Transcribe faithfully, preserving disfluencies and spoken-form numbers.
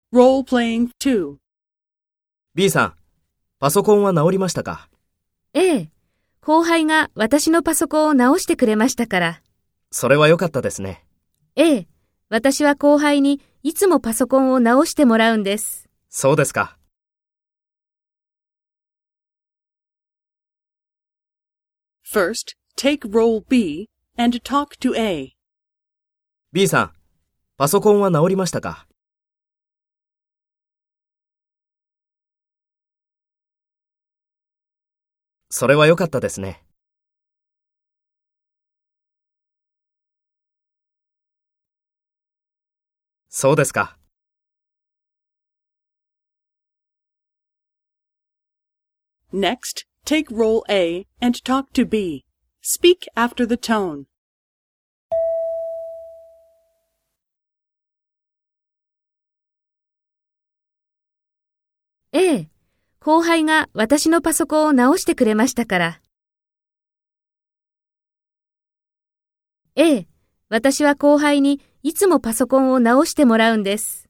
Role-playing two. B さん、パソコンは直りましたか？ ええ、後輩が私のパソコンを直してくれましたから。 それは良かったですね。 ええ、私は後輩にいつもパソコンを直してもらうんです。 そうですか。 First, take role B and talk to A. B さん、パソコンは直りましたか？それは良かったですね。そうですか。 Next, take role A and talk to B. Speak after the tone. ええ、後輩が私のパソコンを直してくれましたから。ええ、私は後輩にいつもパソコンを直してもらうんです。